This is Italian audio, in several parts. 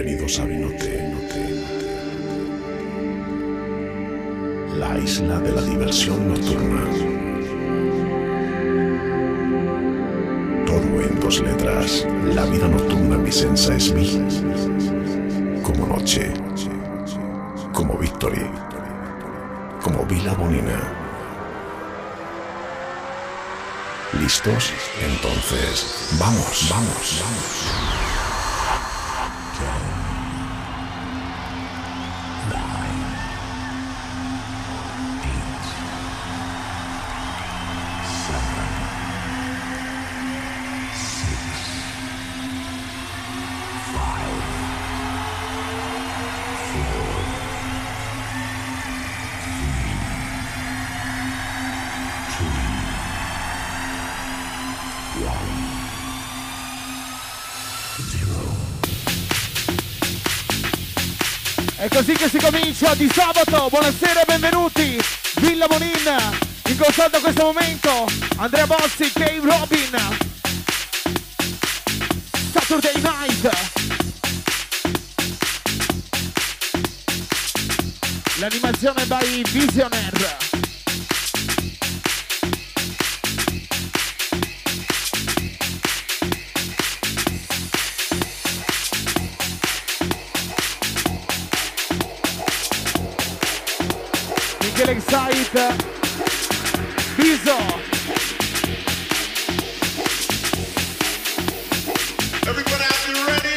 Bienvenidos a Vinote, la isla de la diversión nocturna. Todo en 2 letras. La vida nocturna vicenza es vi. Como noche, como Victory, como Villa Bonina. ¿Listos? Entonces, vamos. È così che si comincia di sabato. Buonasera e benvenuti. Villa Bonin, in contatto a questo momento Andrea Bossi, Cave Robin. Saturday Night. L'animazione by Visionaire. Excite Biso. Everybody out there ready?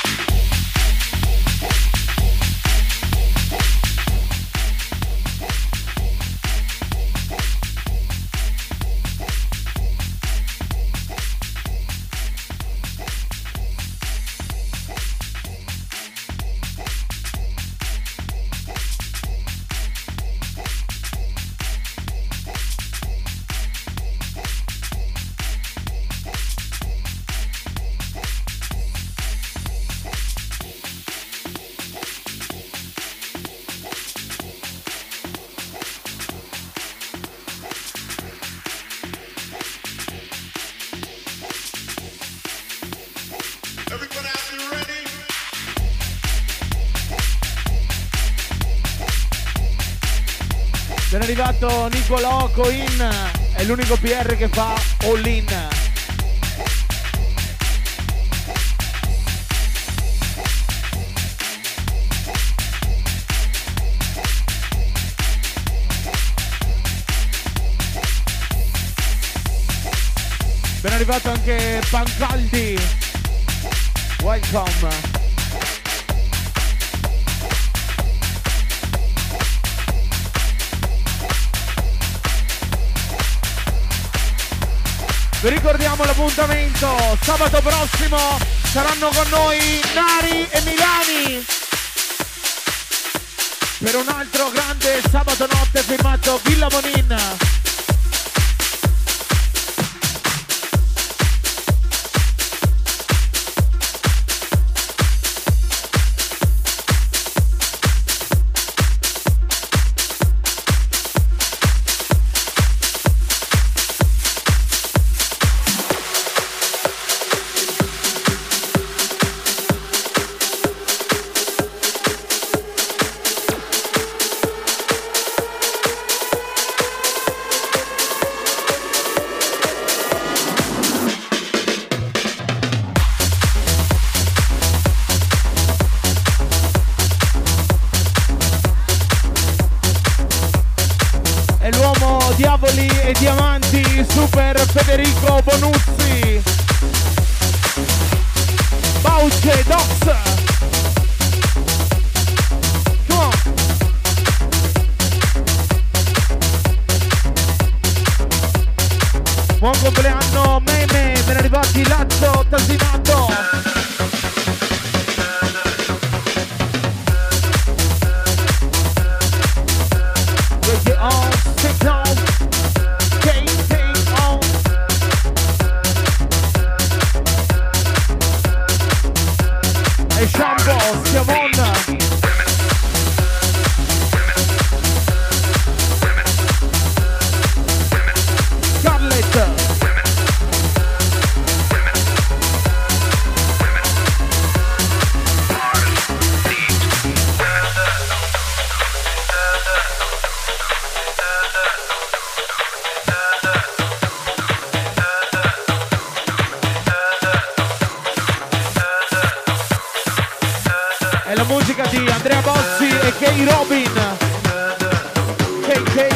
Ben arrivato Nicolò Coin, è l'unico PR che fa all in. Ben arrivato anche Pancaldi, welcome. Vi ricordiamo l'appuntamento, sabato prossimo saranno con noi Nari e Milani per un altro grande sabato notte firmato Villa Bonin. Diavoli e diamanti, Super Federico Bonuzzi, Bauce Dox. Come on. Buon compleanno Meme, ben arrivati Lazzo Tasinato. Scarlett. K-Robin, KK.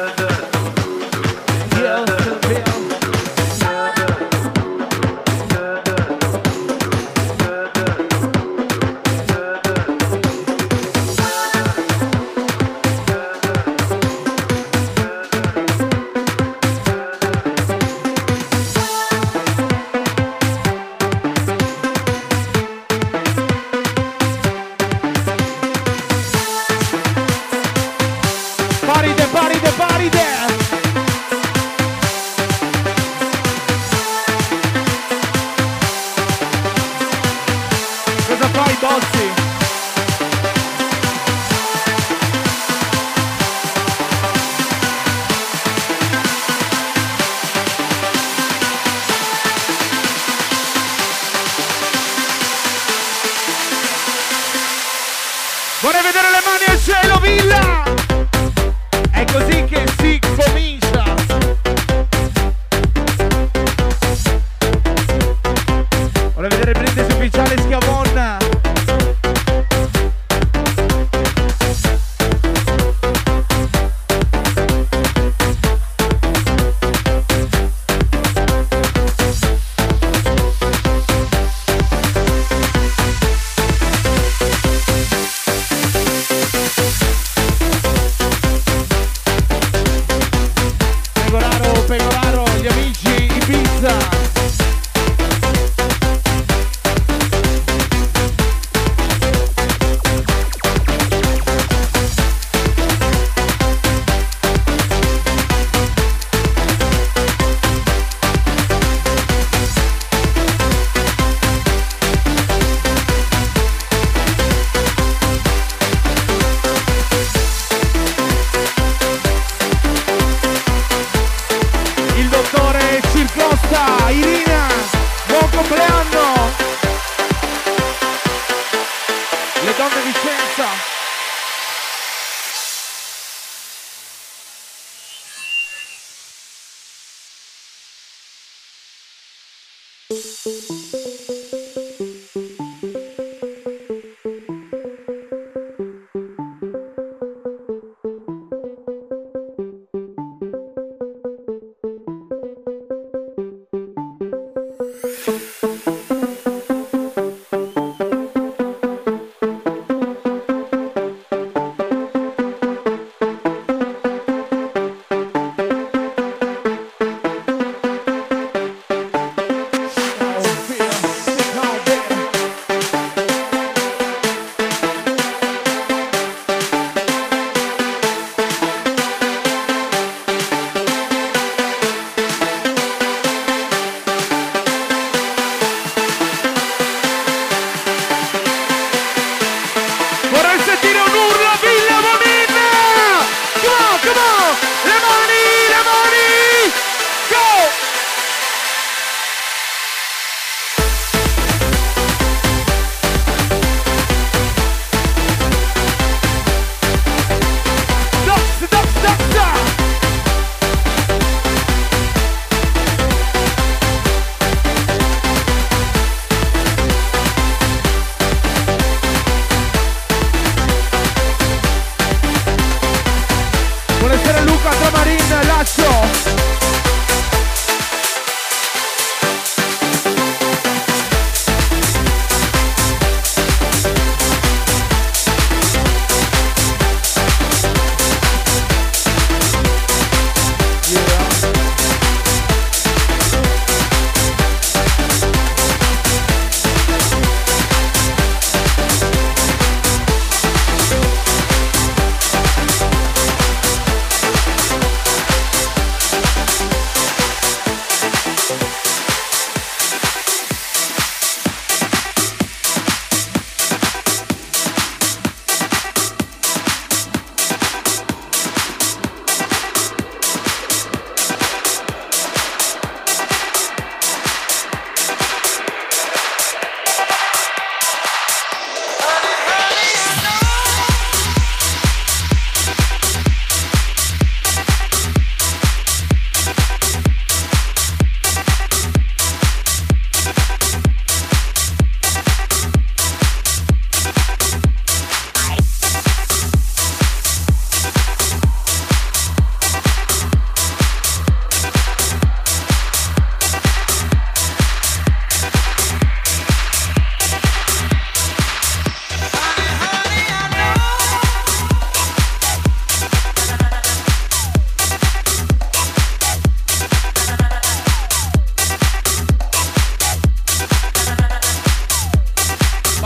Vorrei vedere le mani al cielo, Villa! È così che si comincia. Vorrei vedere il brindisi ufficiale Schiavon. Pegoraro, gli amici Ibiza. Irina, buon compleanno! Le donne Vicenza.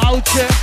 Couch.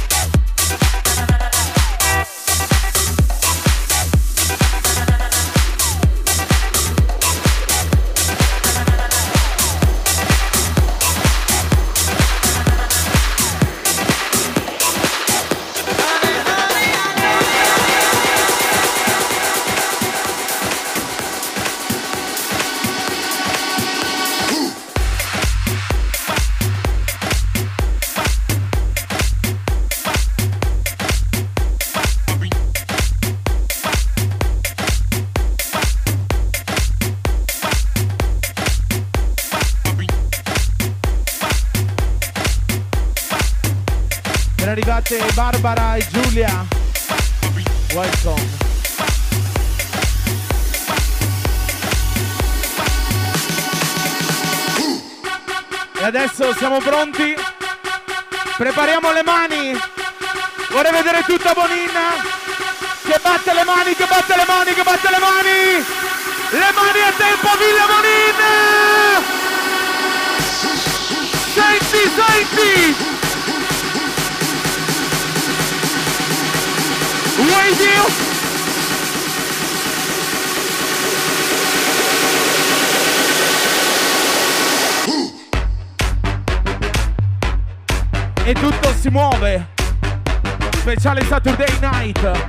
Arrivate Barbara e Giulia, welcome. E adesso siamo pronti, prepariamo le mani, vorrei vedere tutta Bonina che batte le mani, che batte le mani, che batte le mani a tempo Villa Bonin! Senti, senti! Radio! E tutto si muove. Speciale Saturday Night.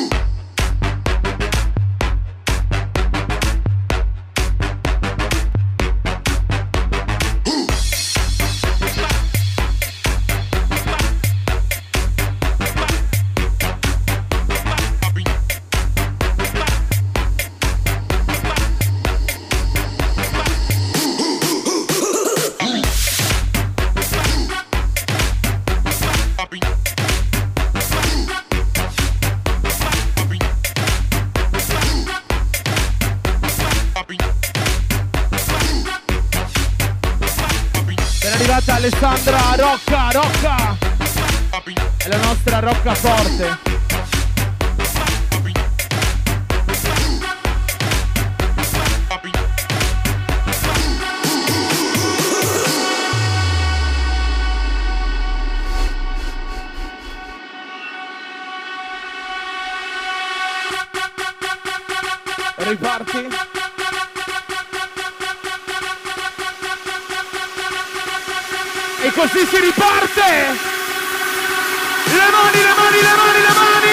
Alessandra Rocca è la nostra roccaforte. Riparti. E così si riparte! Le mani, le mani, le mani, le mani!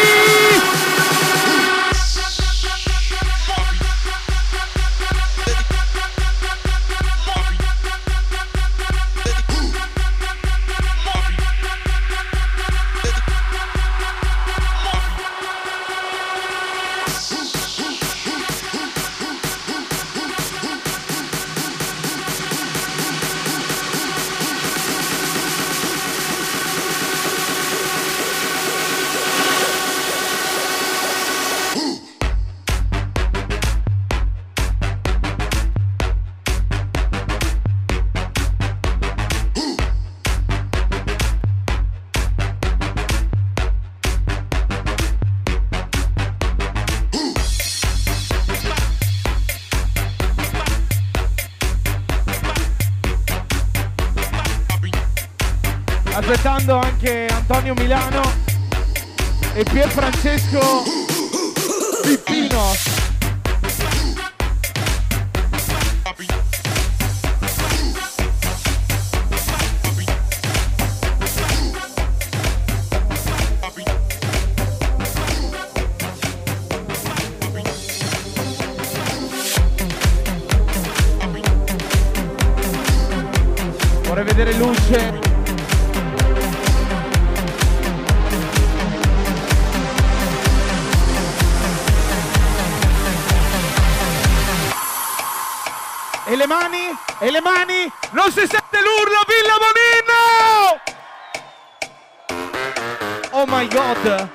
Aspettando anche Antonio Milano e Pier Francesco Pippino. Vorrei vedere luce. E le mani, non si sente l'urlo, Villa Bonino! Oh my god!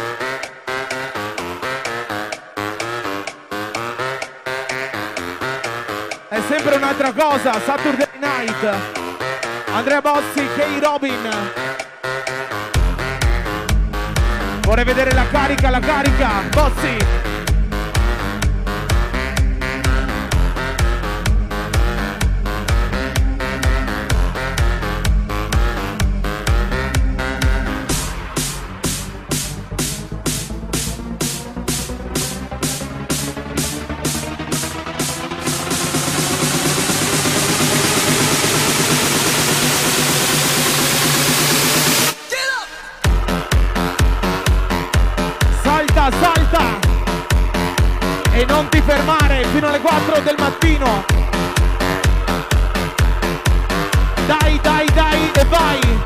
È sempre un'altra cosa, Saturday Night. Andrea Bossi, Kay Robin. Vorrei vedere la carica, Bossi. 4 del mattino. Dai, dai, dai e vai.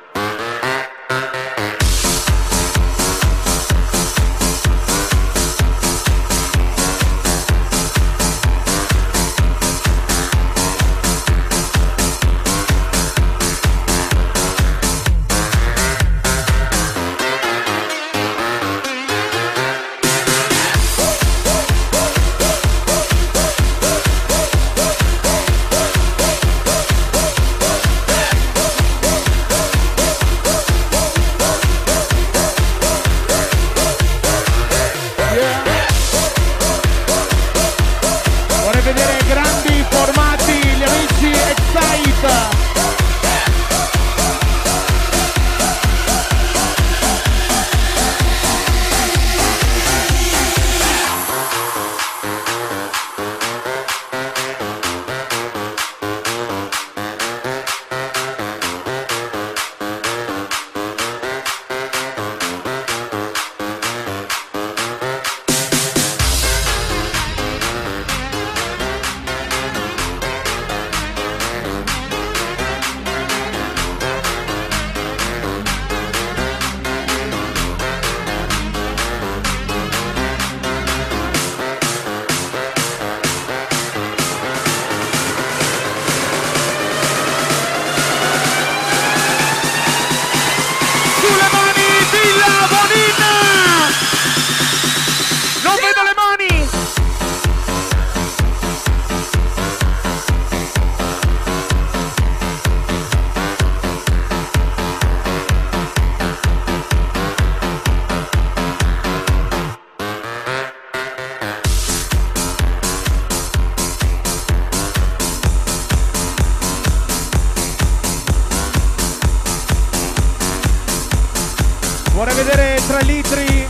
Vorrei vedere 3 litri,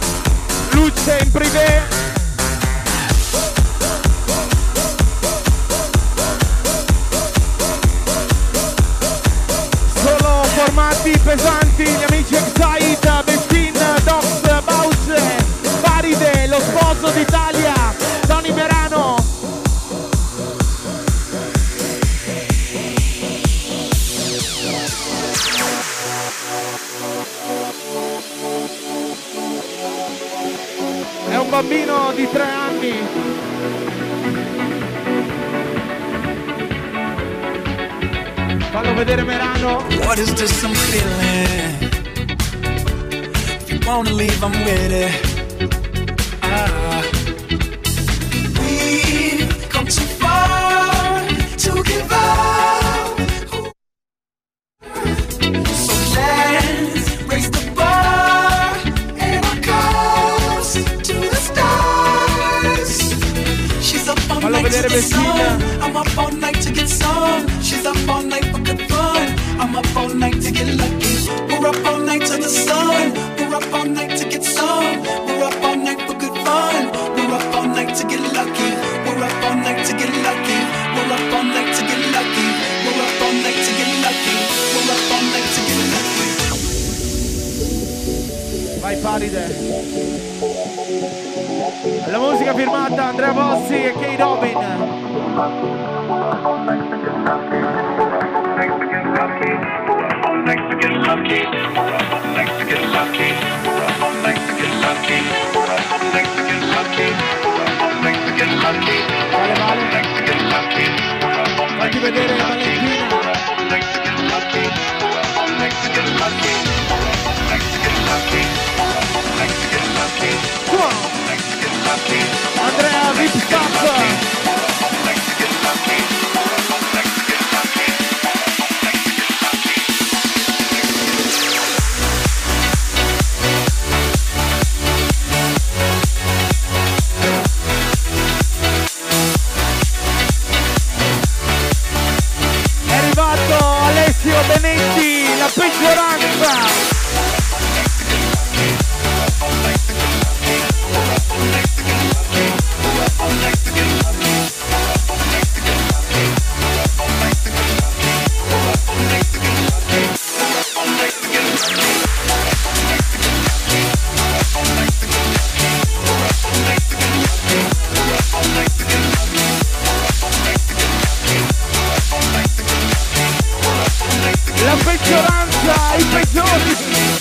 luce in privé. Solo formati pesanti, gli amici Excite, Bestin, Dox, Bauce, Faride, lo sposo d'Italia, Tony Merano. È un bambino di 3 anni. Fallo vedere Merano. What is this I'm feeling? If you wanna leave, I'm with it. We've come too far to give up. So let's raise the bar and our cups to the stars. She's up all night to get some. I'm up all night to get some. She's up all night for good fun. I'm up all night to get lucky. We're up all night to the sun. We're up all night to get some. We're up all night for good fun. We're up all night to get lucky. We're up all night to get lucky. We're up all night to get lucky. We're up all night to get lucky. We're up all night to get lucky. Vai Faride. La musica firmata Andrea Bossi e Kay Robin. Fatti vedere Valentina. Andrea Vip Stop. Benetti, la peggioranza. La peggioranza, i peggiori.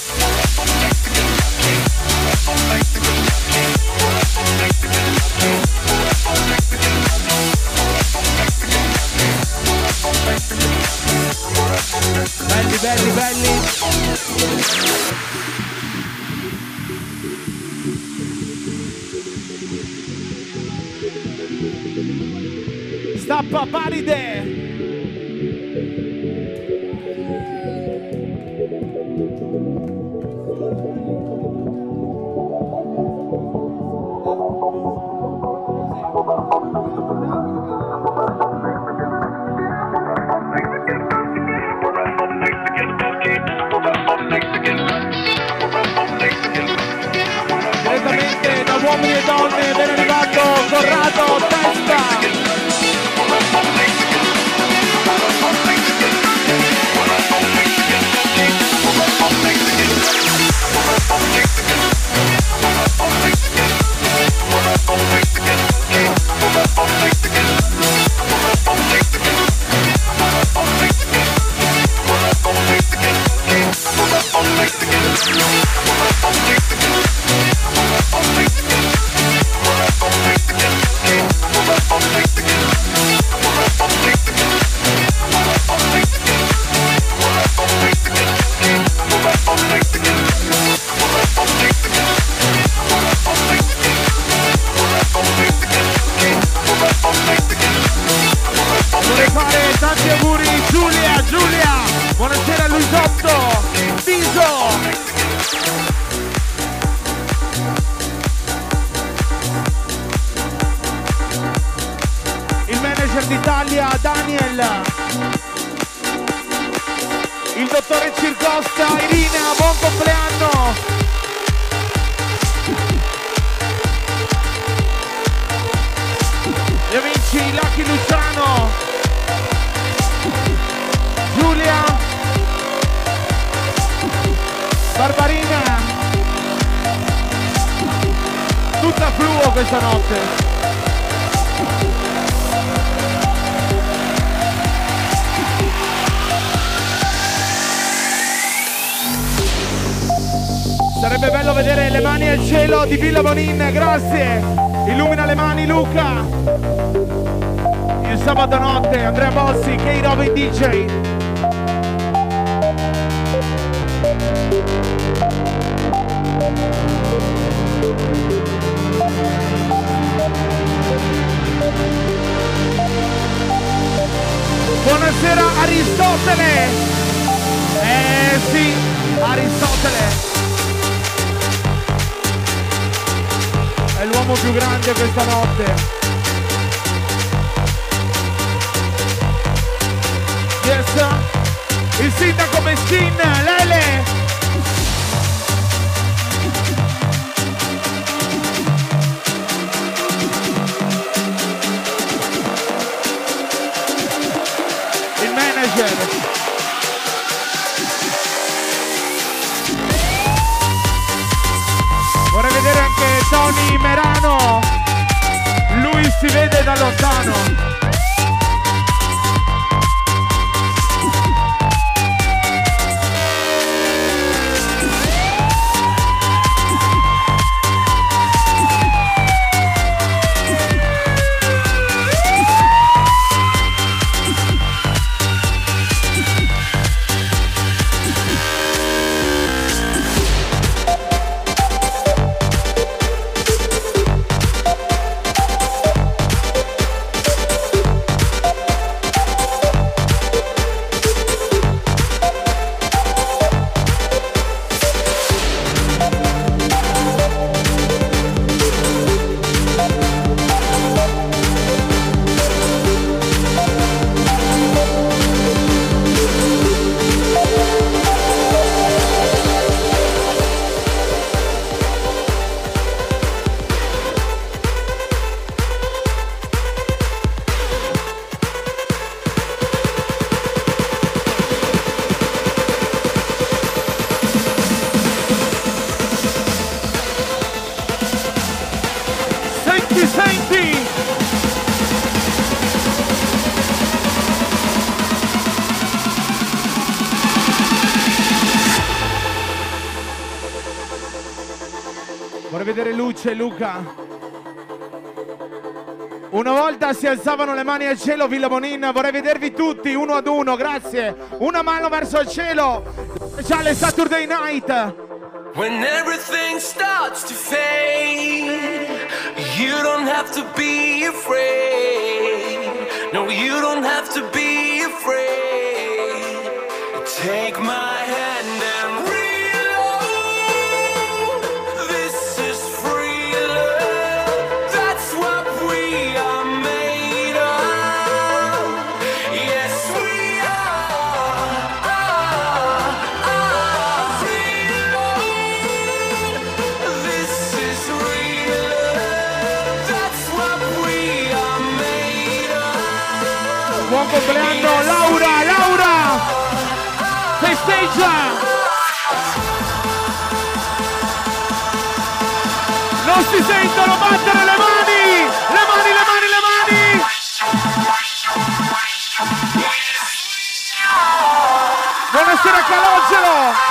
Belli, belli, belli. Stappa paride. Direttamente da uomini e donne ben arrivato Corrado Testa. Vorrei fare tanti auguri Giulia, buonasera Luisotto, Viso. Il manager d'Italia Daniel, il dottore Circosta, Irina, buon compleanno. Gli amici Lucky Luciano, Giulia, Barbarina, tutta fluo questa notte. Sarebbe bello vedere le mani al cielo di Villa Bonin, grazie. Illumina le mani Luca. Il sabato notte Andrea Bossi, K-Robin DJ. Buonasera Aristotele. Sì, Aristotele. È l'uomo più grande questa notte. Yes. Il sindaco Mestin, Lele. Il manager. Vorrei vedere anche Tony Merano, lui si vede da lontano. Vorrei vedere Luce e Luca. Una volta si alzavano le mani al cielo, Villa Bonin. Vorrei vedervi tutti, uno ad uno, grazie. Una mano verso il cielo. Speciale Saturday Night. When everything starts to fade, you don't have to be afraid. No, you don't have to be afraid. Take my hand and reload. This is free love. That's what we are made of. Yes, we are free love. This is real love. That's what we are made of. Buon compleanno Laura, Laura! Festeggia! Non si sentono battere le mani! Le mani, le mani, le mani! Buonasera Calogero!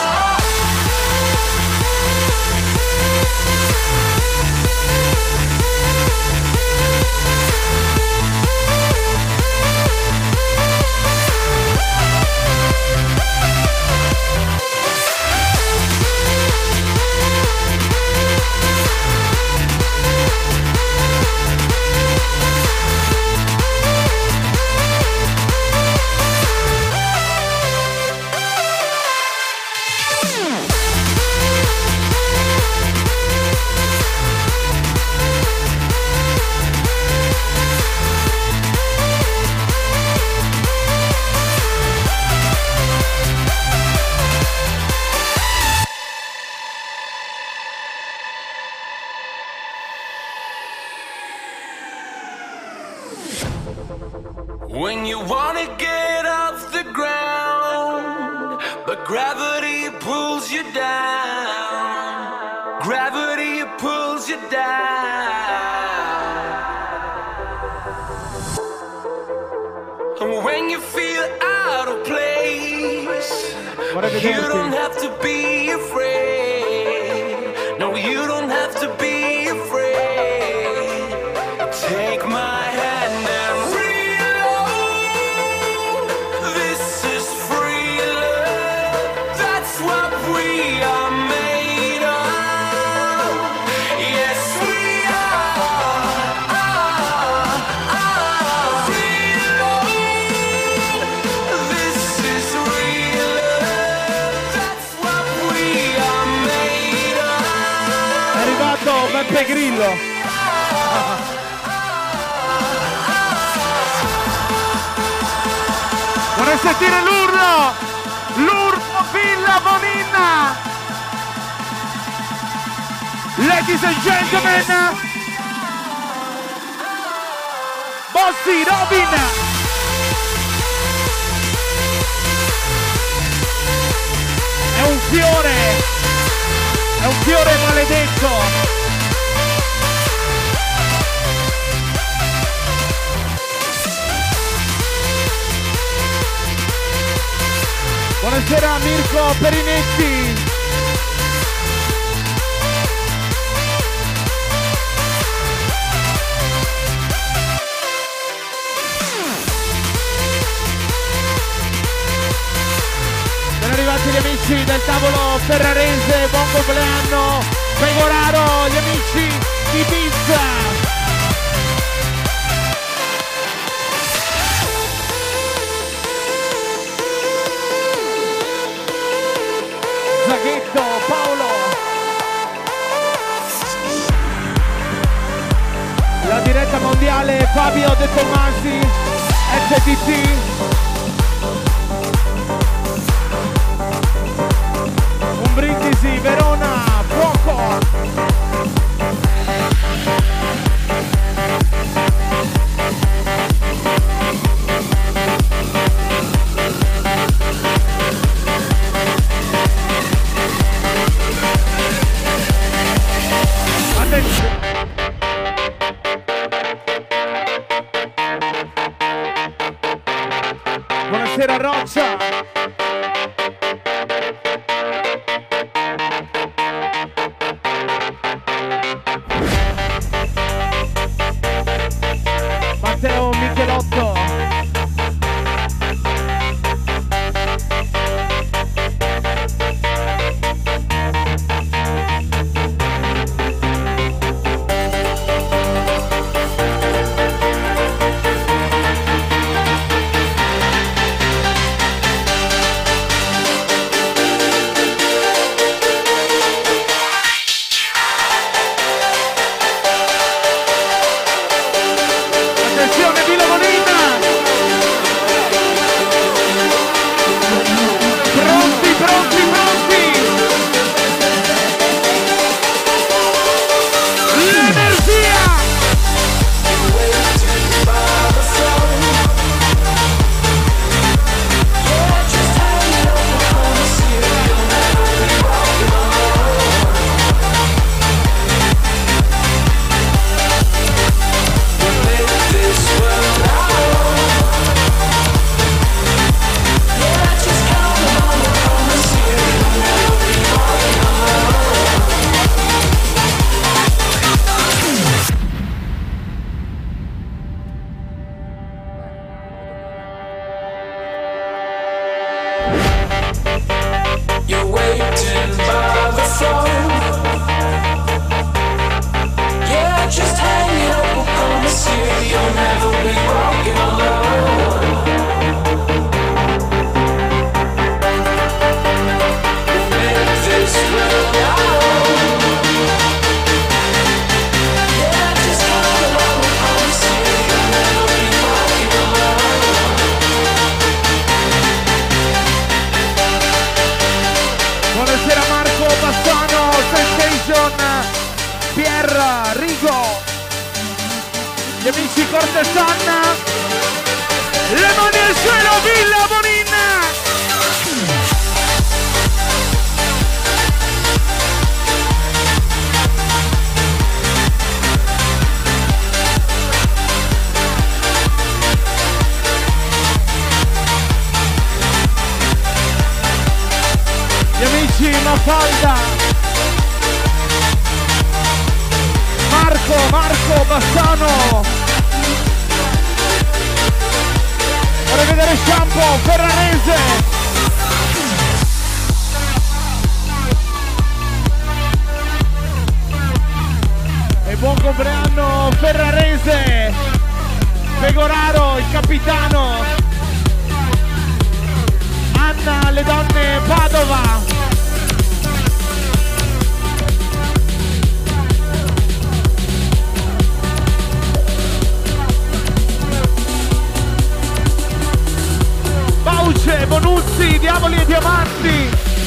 When you wanna get off the ground, but gravity pulls you down. Gravity pulls you down. And when you feel out of place, you don't have to be afraid. No, you don't have to be afraid. Take my hand and reload. This is free love. That's what we are made of. Yes, we are free love. This is real love. That's what we are made of. È arrivato Beppe Grillo. Vorrei sentire l'urlo! L'urlo Villa Bonin! Ladies and gentlemen! Bossy Robin! È un fiore maledetto! Buonasera Mirko Perinetti. Sono arrivati gli amici del tavolo ferrarese, buon compleanno, Pegoraro, gli amici di Pizza. Zaghetto, Paolo. La diretta mondiale Fabio De Tomasi, FTT. Un brindisi, Verona, fuoco. Buonasera Roccia. waiting by the phone. Yeah, just hang it up, I promise you, you'll never be walking alone. We'll make this world our own. Yeah, just hang it up, I promise you, you'll never be walking alone. Buonasera Marco Bassano, Sensation, Pierre, Rigo, gli amici Cortesan, le mani al cielo, Villa Bonin! Gli amici Mafalda, Marco Bassano, vorrei vedere Shampoo, Ferrarese, e buon compleanno Ferrarese, Pegoraro, il capitano, Anna, le donne Padova. Bauce, Bonuzzi, Diavoli e Diamanti.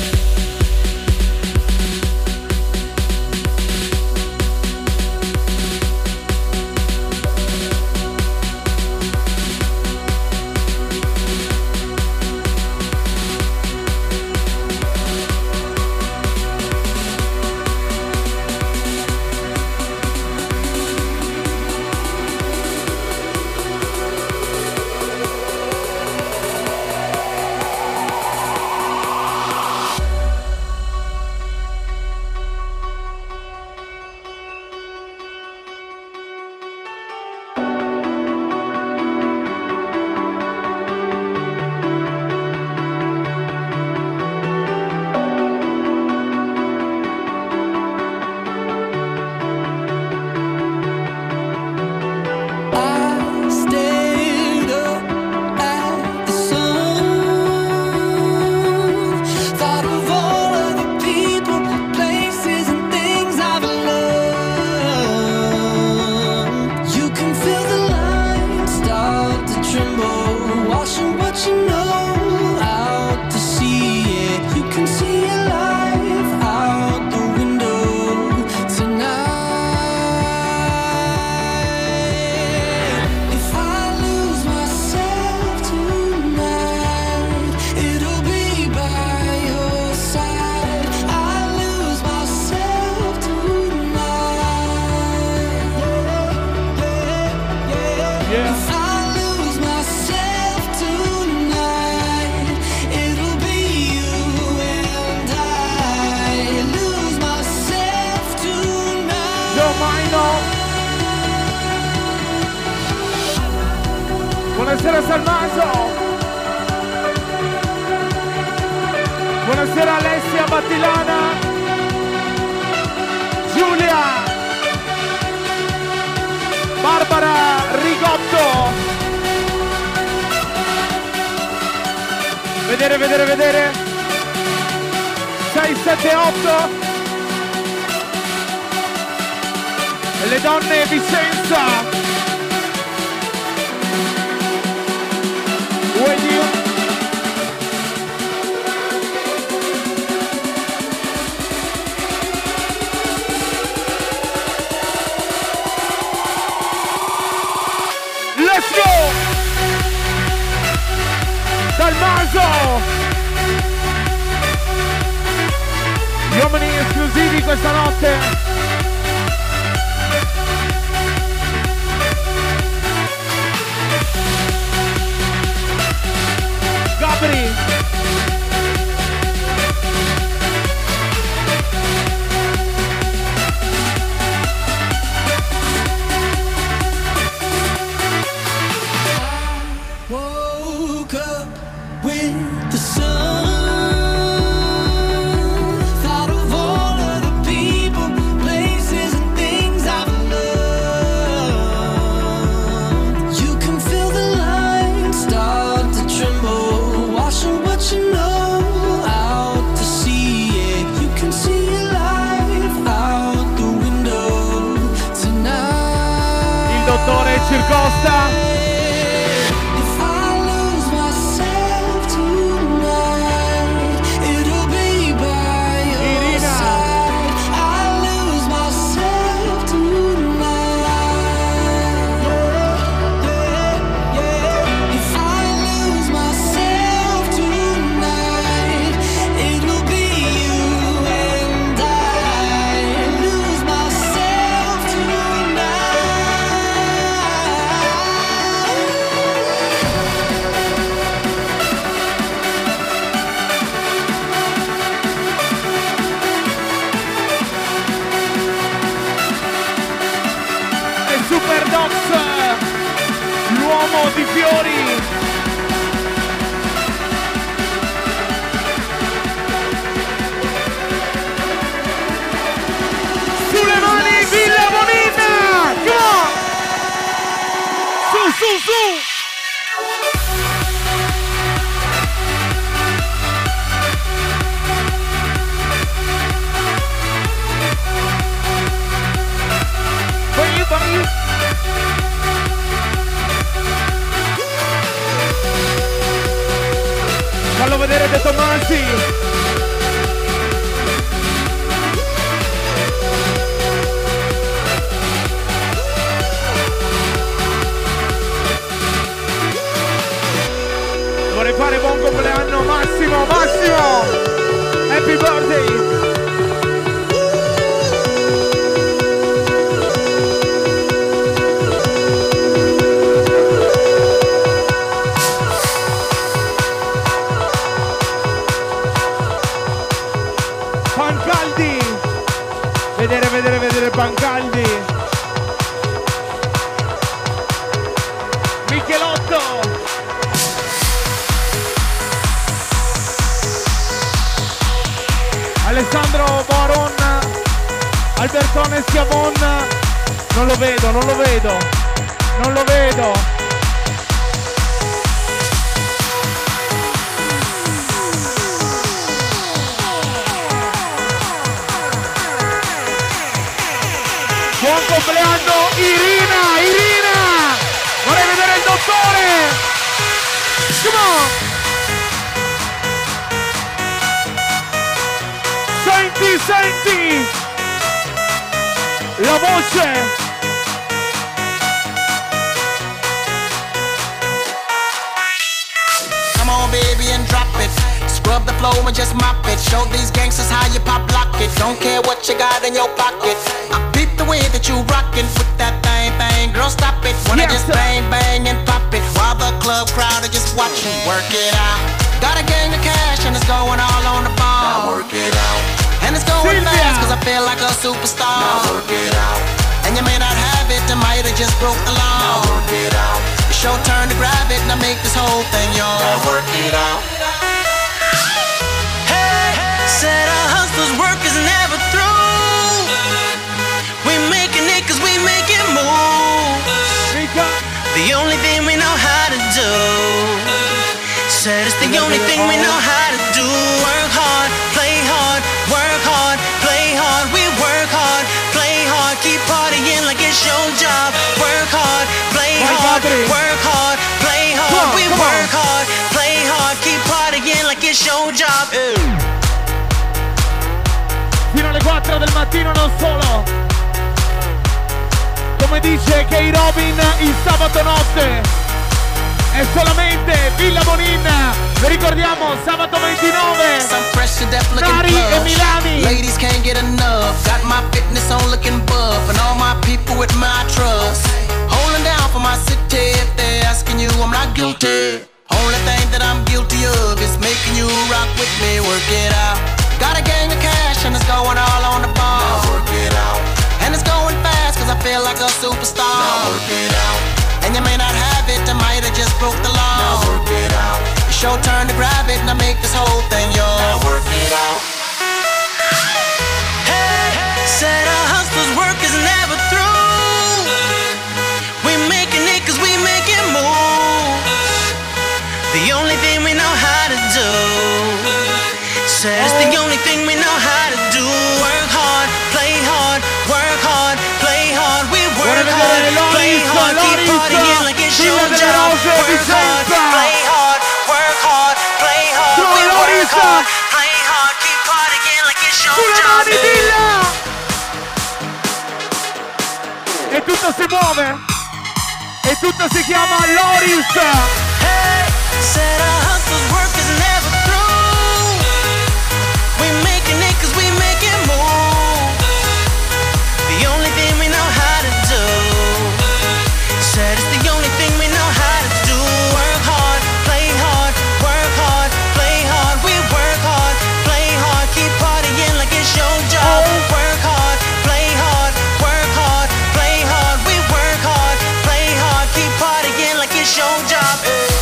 Buonasera Salmaso. Buonasera Alessia Battilana. Giulia. Barbara Rigotto. Vedere. 6, 7, 8. Le donne Vicenza. Let's go! Dal Maso! Gli uomini esclusivi questa notte. Gabri! Woke up with the sun. Costa. L'uomo di fiori. Sulle mani, Villa Bonina! Come on! Su! Vai. Fallo vedere De Tomasi. Vorrei fare buon compleanno Massimo. Happy birthday. Vedere Pancaldi. Michelotto. Alessandro Baron. Albertone Schiavon. Non lo vedo. Buon compleanno Irina! Vorrei vedere il dottore! Come on! Senti! La voce! Come on baby and drop it. Scrub the floor and just mop it. Show these gangsters how you pop lock it. Don't care what you got in your pocket. I beat the way that you rockin' with that thing. Girl, stop it. Wanna just bang and pop it. While the club crowd are just watching. Work it out. Got a gang of cash and it's going all on the ball. Now work it out. And it's going fast cause I feel like a superstar. Now work it out. And you may not have it, I might have just broke the law. Now work it out. It's your turn to grab it and I make this whole thing yours. Now work it out. Said our hustlers' work is never through. We making it cause we making moves. The only thing we know how to do. Said it's the only thing we know how to do. Work hard, play hard, work hard, play hard. We work hard, play hard, keep partying like it's your job. Work hard, play hard, work hard, play hard. We work hard, play hard, keep partying like it's your job. Fino alle 4 del mattino non solo. Come dice Kay Robin, il sabato notte è solamente Villa Bonina. Vi ricordiamo sabato 29 Nari e Milani. Ladies can't get enough. Got my fitness on looking buff. And all my people with my trust. Holding down for my city. If they're asking you, I'm not guilty. Only thing that I'm guilty of is making you rock with me. Work it out. Got a gang of cash and it's going all on the ball. Now work it out. And it's going fast cause I feel like a superstar. Now work it out. And you may not have it, I might have just broke the law. Now work it out. It's your turn to grab it and I make this whole thing yours. Now work it out. Hey, said our hustlers' work is never through. We making it cause we making moves. The only thing we know how to do. Said it's the only thing we know how to do. Work hard, play hard, work hard, play hard. We work hard, play hard, keep Loris, Villa delle Rose, Vicenza. Play hard, work hard, play hard. Come We Loris. work hard, play hard, keep partying like it's your Sulle job. mani, Villa! E tutto si muove. E tutto si chiama Loris. Hey, said our hustle's work is never through. We making it 'cause we make it move. The only thing we know how to do. Said it's the only thing we know how to do. Work hard, play hard, work hard, play hard. We work hard, play hard, keep partying like it's your job. Work hard, play hard, work hard, play hard. We work hard, play hard, keep partying like it's your job.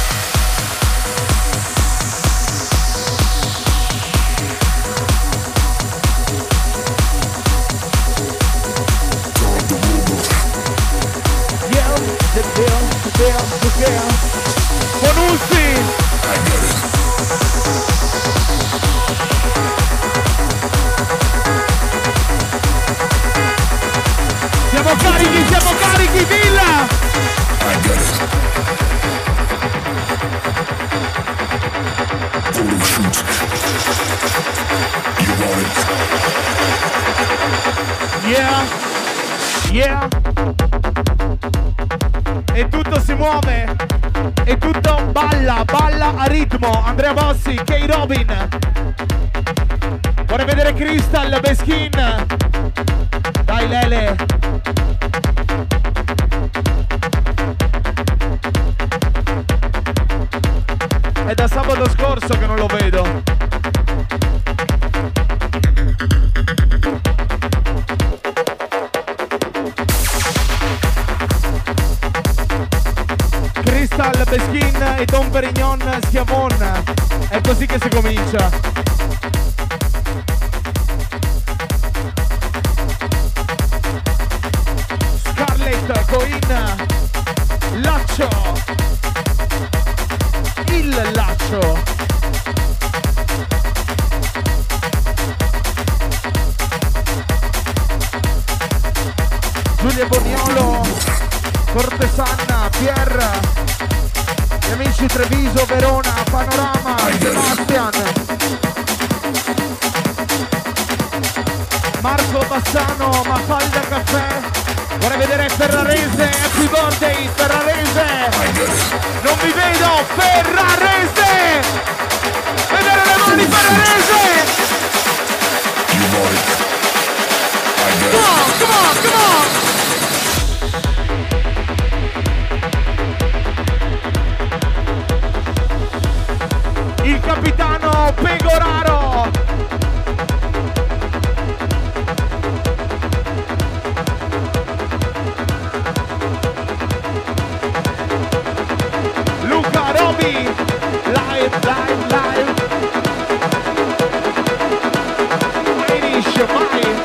Bonuzzi. Siamo carichi, Villa. Yeah, yeah. E tutto si muove. E tutto balla a ritmo. Andrea Bossi, K. Robin. Vorrei vedere Crystal, Beskin. Dai Lele. È da sabato scorso che non lo vedo. Crystal, Beskin e Don Perignon Schiavon. È così che si comincia. Scarlett, Coin, Laccio. Il Laccio. Giulia Boniolo, Cortesanna, Pierre, gli amici Treviso, Verona, Panorama, Sebastian, Marco Bassano, Mafalda Caffè. Vorrei vedere Ferrarese, happy birthday Ferrarese. Non vi vedo, Ferrarese. Vedere le mani, Ferrarese. Come on, come on, come on. Il capitano Pegoraro. Luca Robi. Live, live, live. Irish, mai.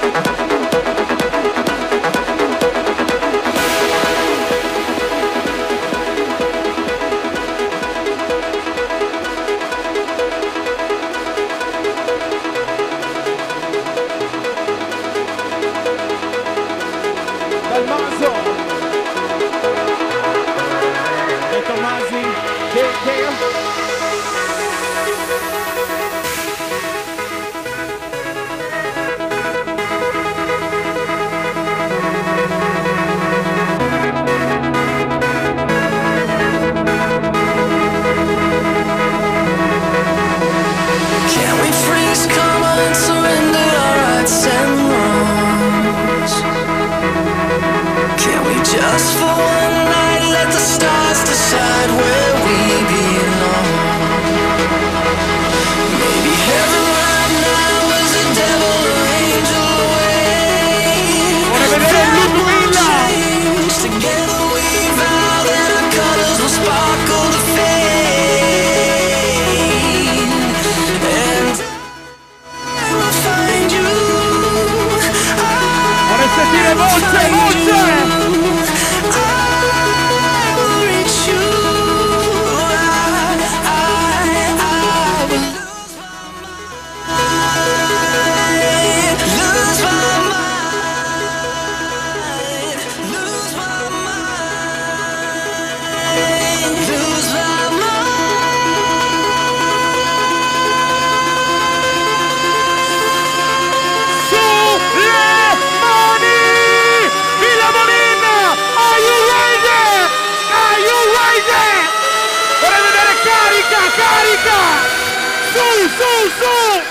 carica! Su, su, su!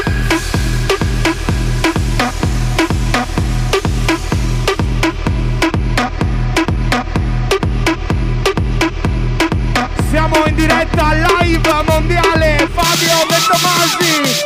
Siamo in diretta live mondiale, Fabio De Tomasi.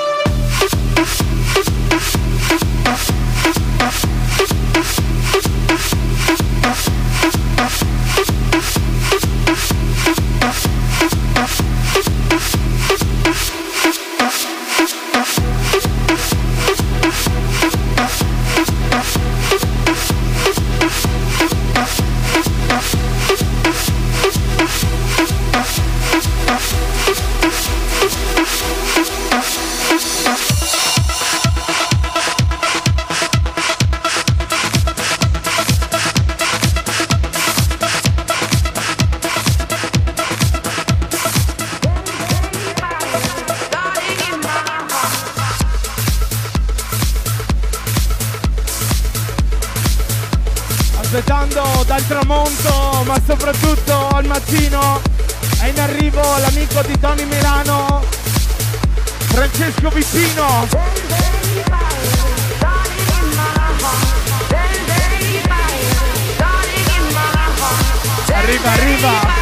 Aspettando dal tramonto, ma soprattutto al mattino, è in arrivo l'amico di Tony Milano, Francesco Vicino. Arriva, arriva.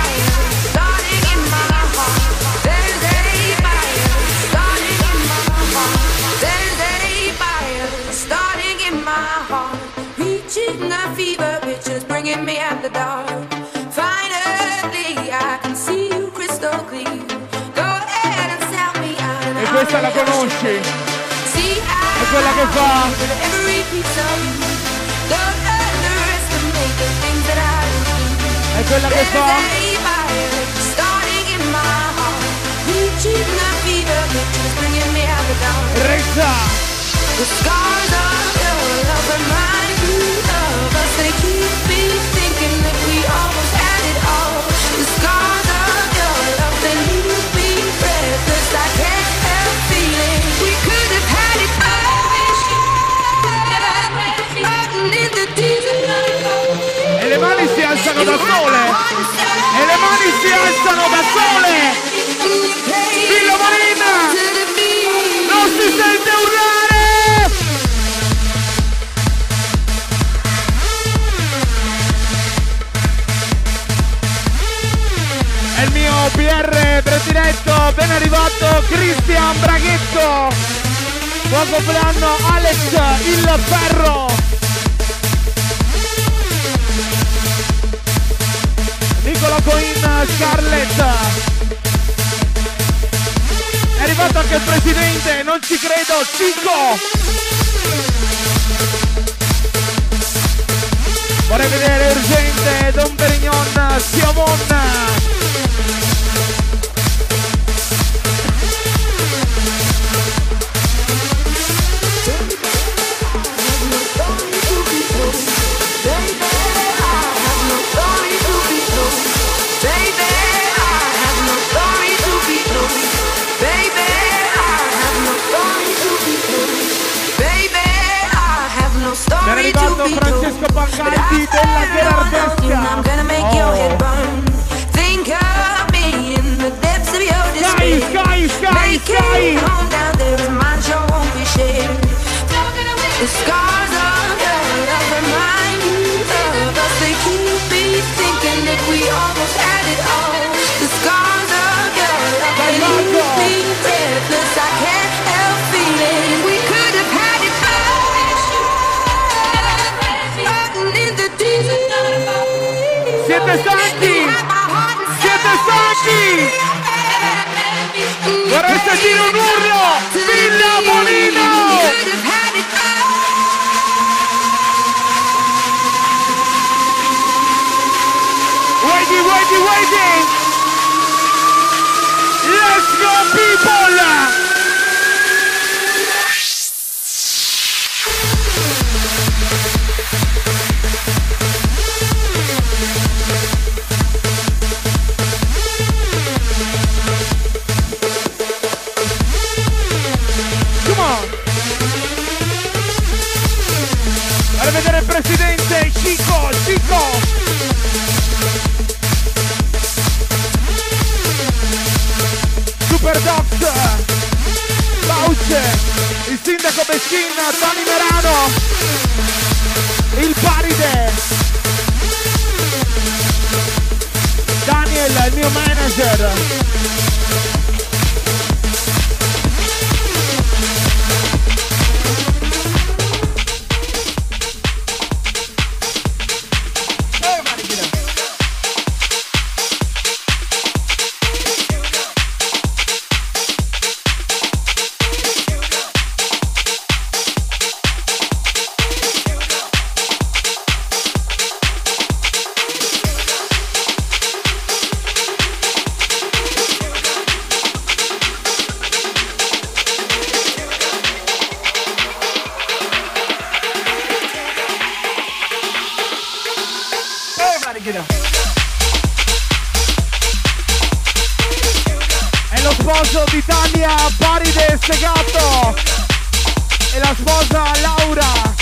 Bringing me at the dark. Finally, I can see you crystal clear. Go ahead and sell me out. E questa la conosci? È quella che fa. Every piece of you. Don't underestimate the things that I do. È quella che fa. Starting in my heart. Reaching the fever pitch is bringing me at the dark. Reza. The scars of your love remind me of us. They keep me thinking that we almost had it all. The scars of your love, they leave me breathless. I can't help feeling we could have had it all. In the desert. E le mani si alzano da sole. E le mani si alzano da sole. Villa Marina. Non si sente urlare. È il mio PR prediletto, ben arrivato Cristian Braghetto. Buon compleanno Alex il Ferro. Nicola Coin Scarlett. È arrivato anche il presidente, non ci credo, Cico. Vorrei vedere urgente Don Perignon Siamon. È arrivato Francesco Pancaldi della Gerardesca. Sky. The scars of your love remind me of us. They keep me thinking that we almost had it all. The scars of your love, they leave me breathless. I can't help feeling we could have had it all. In the desert. Siete stanchi? Siete stanchi? Vorrei sentire un urlo! Villa Molino! Waiting! Let's go people! Come on! Vale vedere il presidente Cico! il sindaco Beschin, Tony Merano, il Paride, Daniel, il mio manager. È lo sposo di Tania, Paride Segato, e la sposa Laura.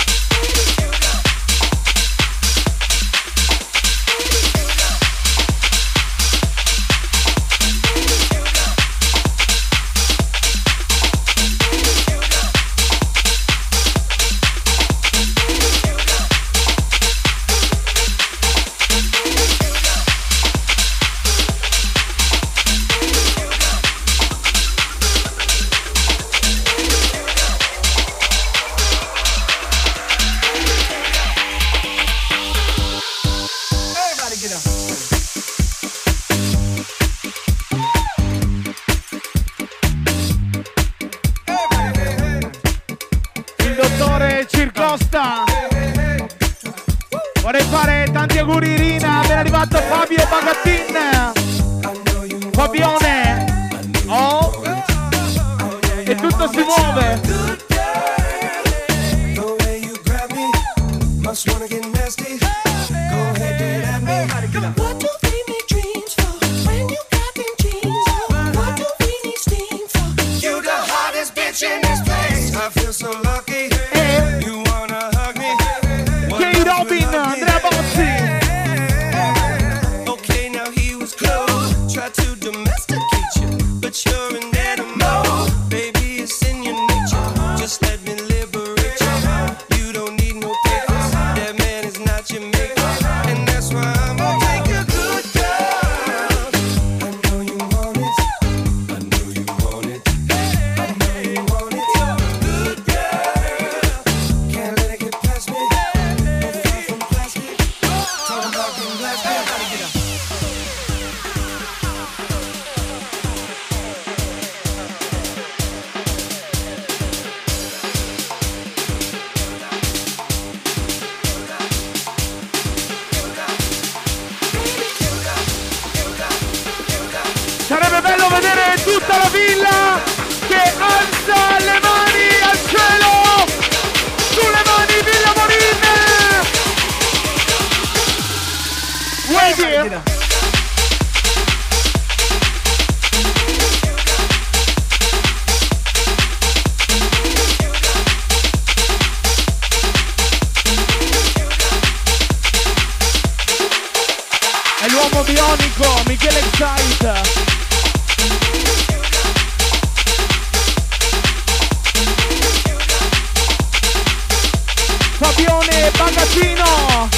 Vorrei fare tanti auguri Irina, ben arrivato Fabio Bagattin, Fabione, oh, e tutto si muove. Sarebbe bello vedere tutta la villa che alza le mani al cielo! Sulle mani Villa Morin! Ready? È l'uomo bionico, Michele Excite. Fabione Bagattino,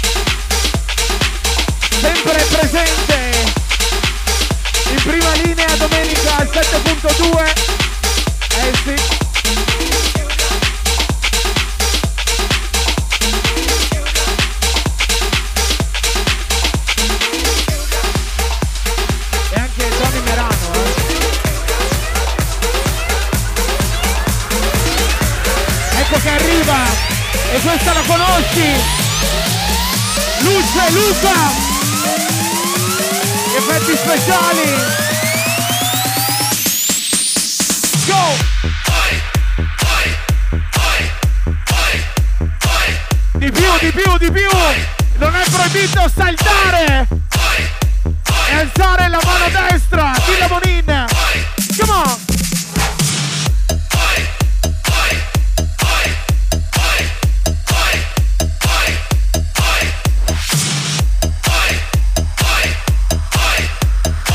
sempre presente in prima linea domenica al 7.2. Sì. E anche Tony Merano, Ecco che arriva. E questa la conosci? Luce Luca! Effetti speciali! Go! Di più, di più, di più! Non è proibito saltare! E alzare la mano destra! Villa Morin! Come on!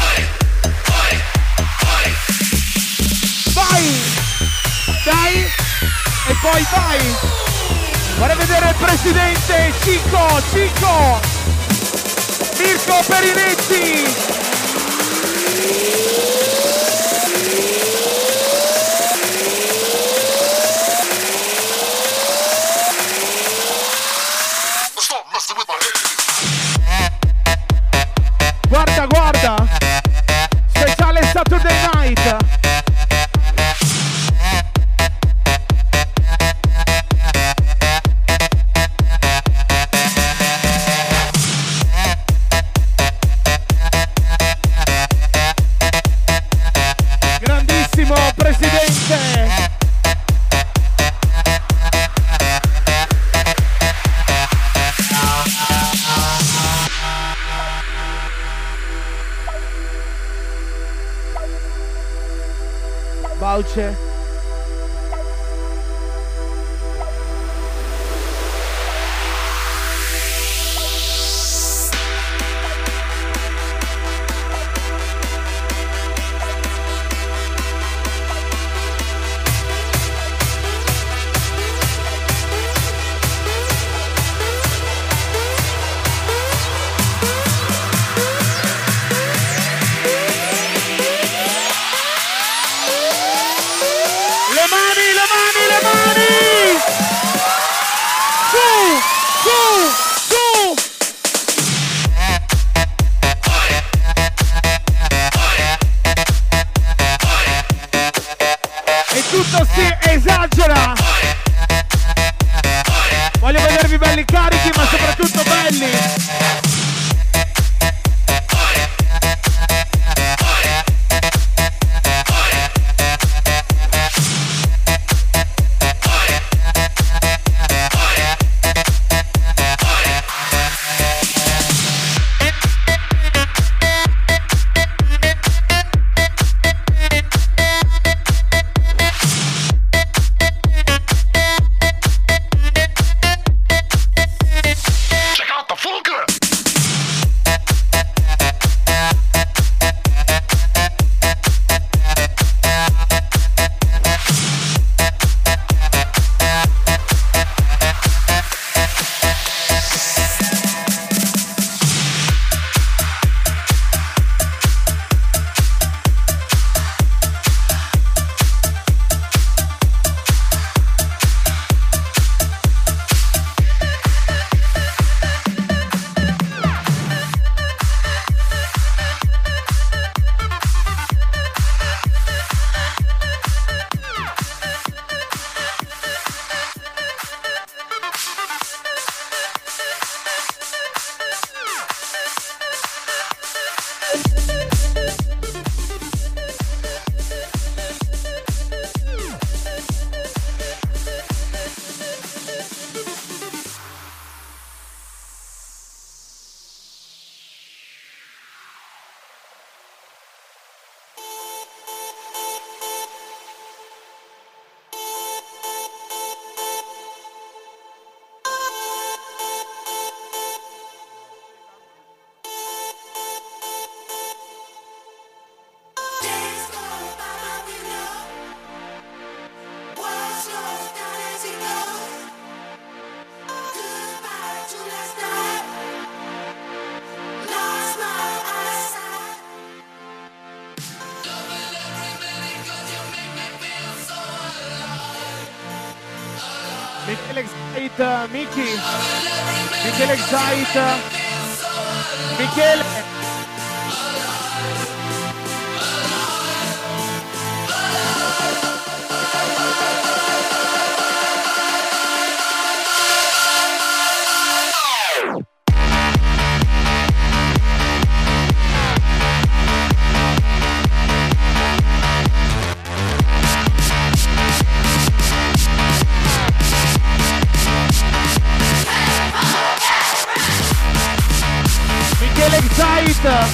Dai! poi vai. Vorrei vedere il presidente Cico Mirko Perinetti. Guarda, speciale Saturday Night. Grandissimo presidente. Bauce. Le mani! Su! E tutto si esagera! Voglio vedervi belli carichi, ma soprattutto belli! Michele Excite, Miki. Michele Excite. Michele. Excite.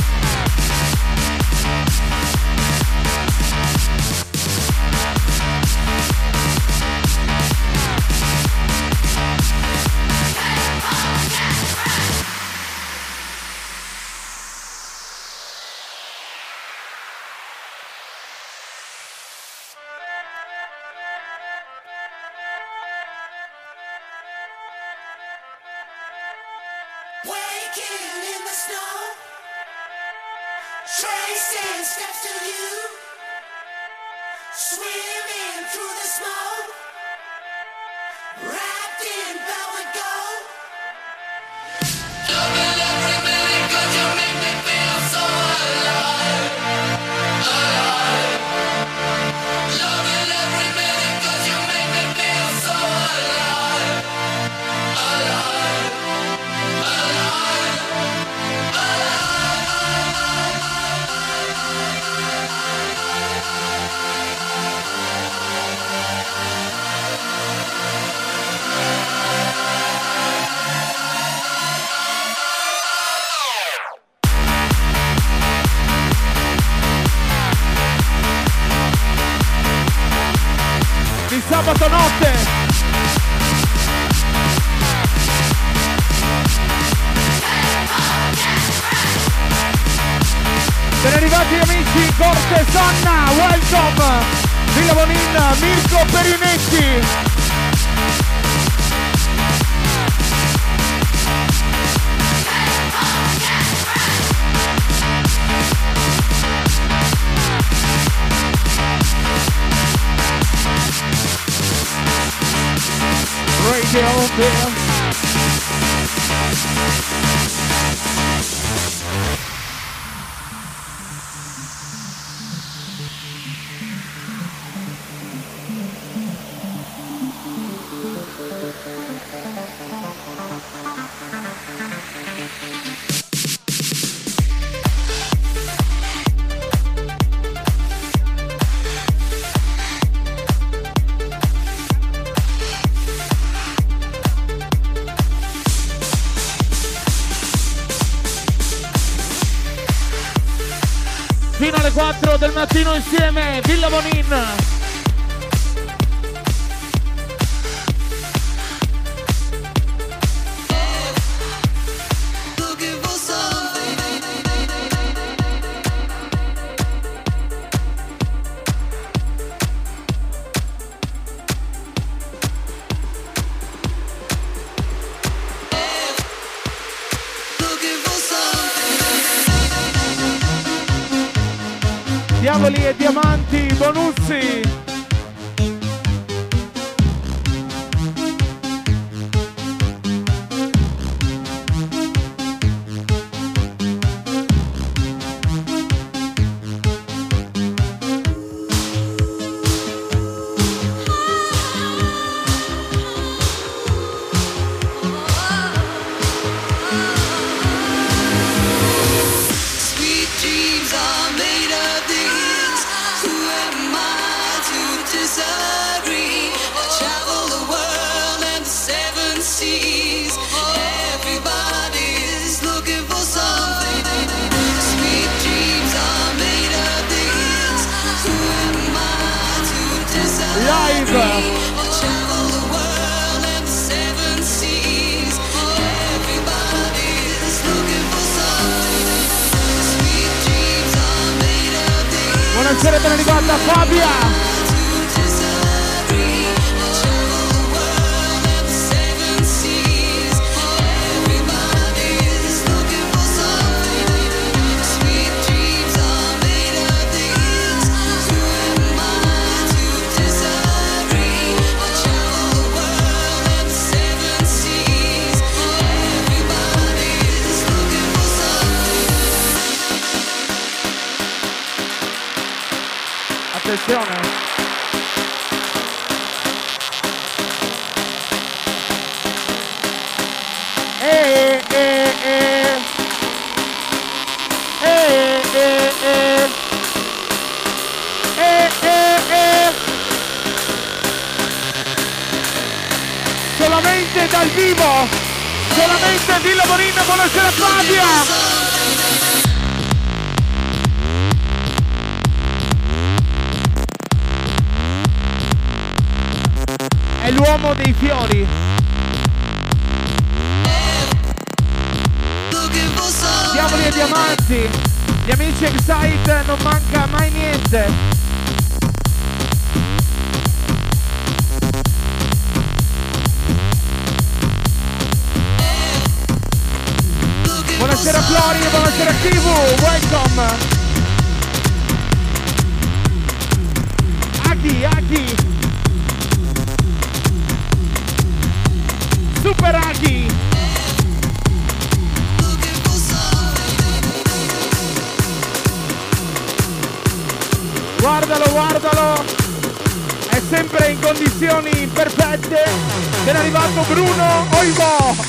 Sabato notte. Ben arrivati amici, Corte Sanna, welcome, Villa Bonin, Mirko Perinetti. Radio Bill. Fino alle 4 del mattino insieme, Villa Bonin. Diavoli e diamanti, Bonuzzi. Buonasera, ben arrivata Fabia. Attenzione. Solamente dal vivo, solamente Villa Bonin, buonasera Fabia. È l'uomo dei fiori. Diavoli e diamanti. Gli amici Excite, non manca mai niente. buonasera Kivu, welcome. Aghi. Super Aghi. Guardalo. È sempre in condizioni perfette. È arrivato Bruno Oivo.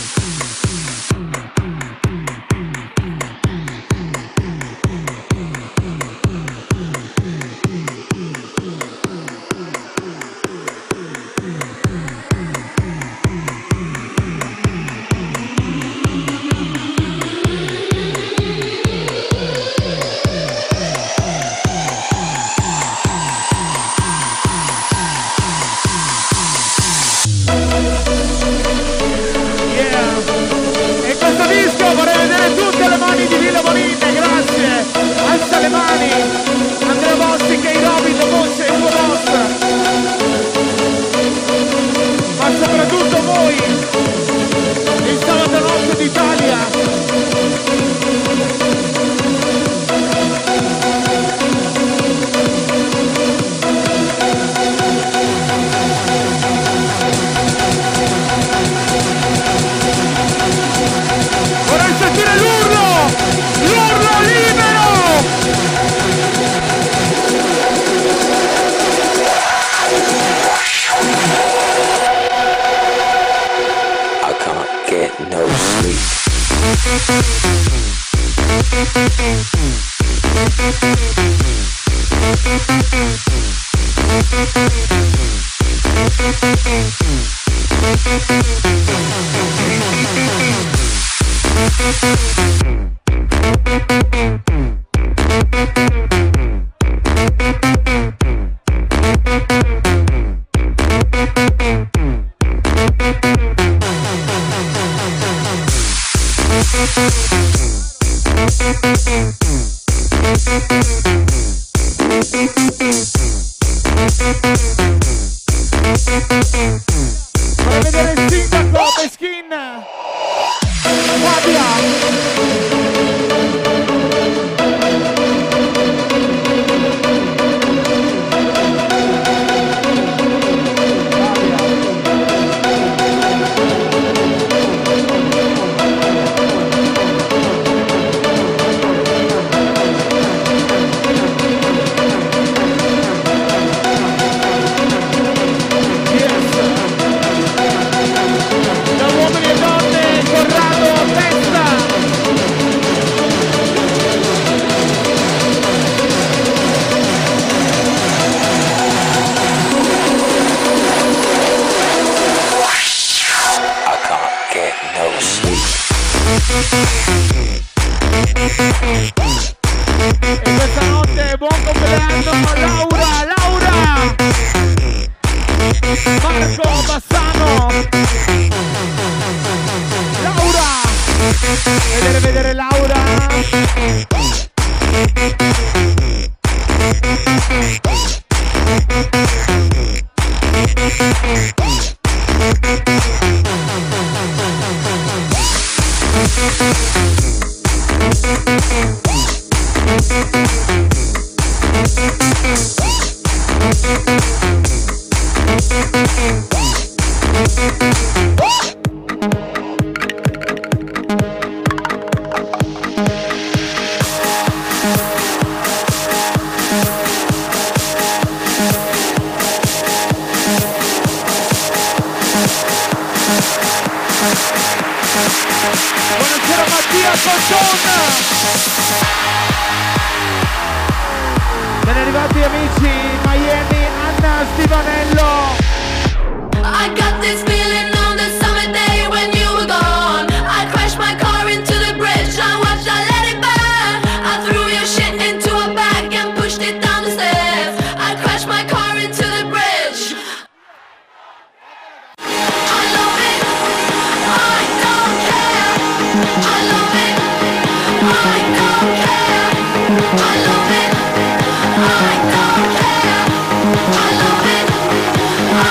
Buonasera Mattia Fontona. Ben arrivati amici Miami, Anna Stivanello. I got this feeling on the summer day when you were gone. I crashed my car into the bridge, I watched, I let it burn. I threw your shit into a bag and pushed it down the stairs. I crashed my car into the bridge. I love it, I don't care. I love it, I don't care. I love it, I don't care. I love it, I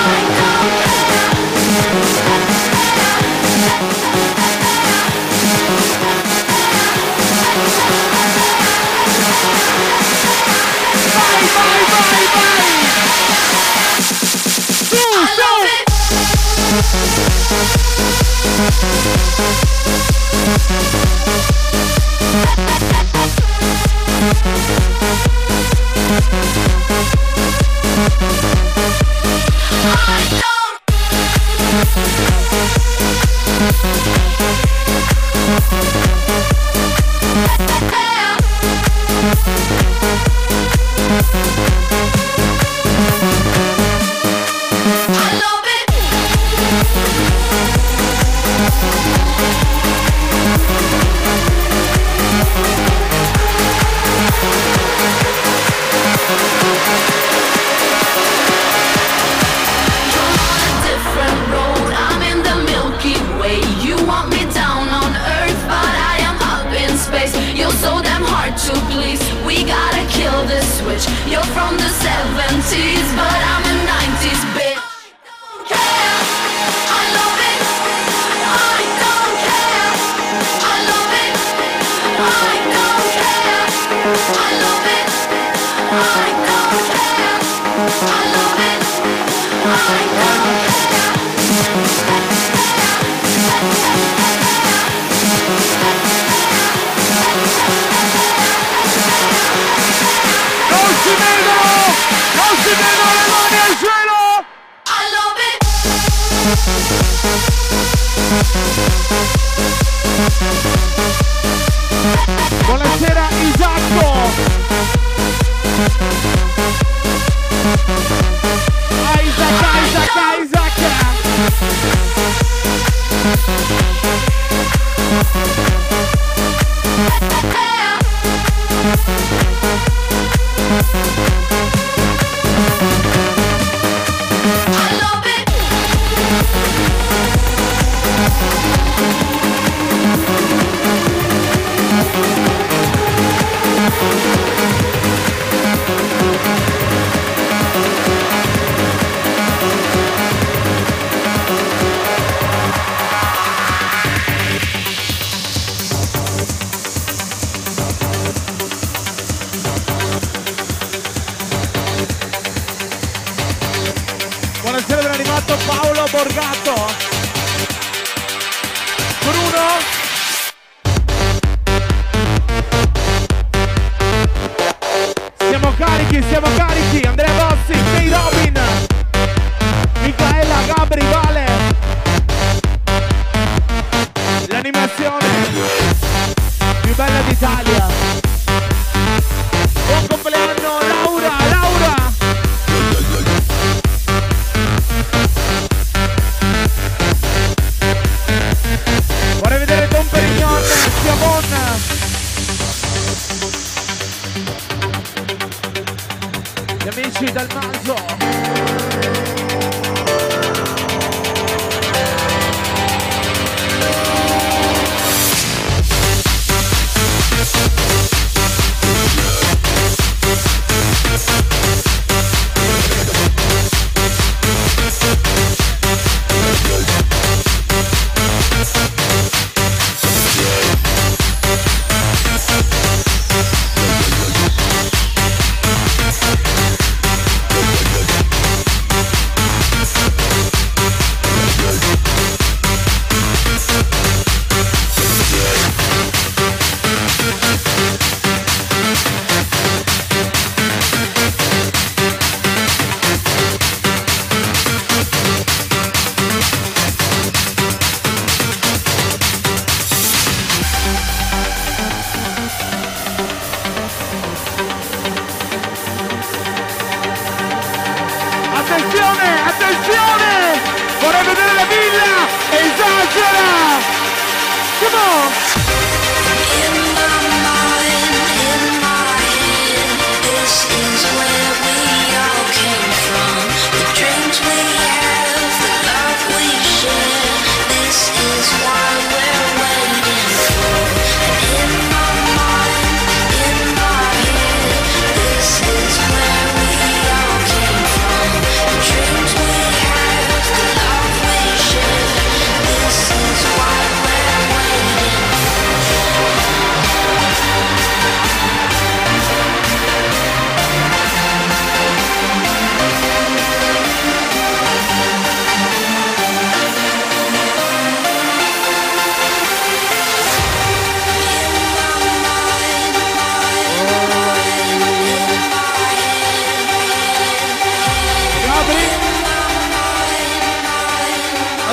Buonasera Isacco. Isaac. Buonasera dell'animato Paolo Borgato. Bruno. Siamo carichi. Andrea Bossi, Jay Robin, Micaela, Gabri, Vale. L'animazione più bella d'Italia. Buon compleanno Laura. Vorrei vedere Don Perignon, Siamon. Gli amici dal naso.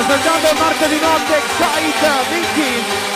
Assaggiando il martedì notte, Excite, Vicky.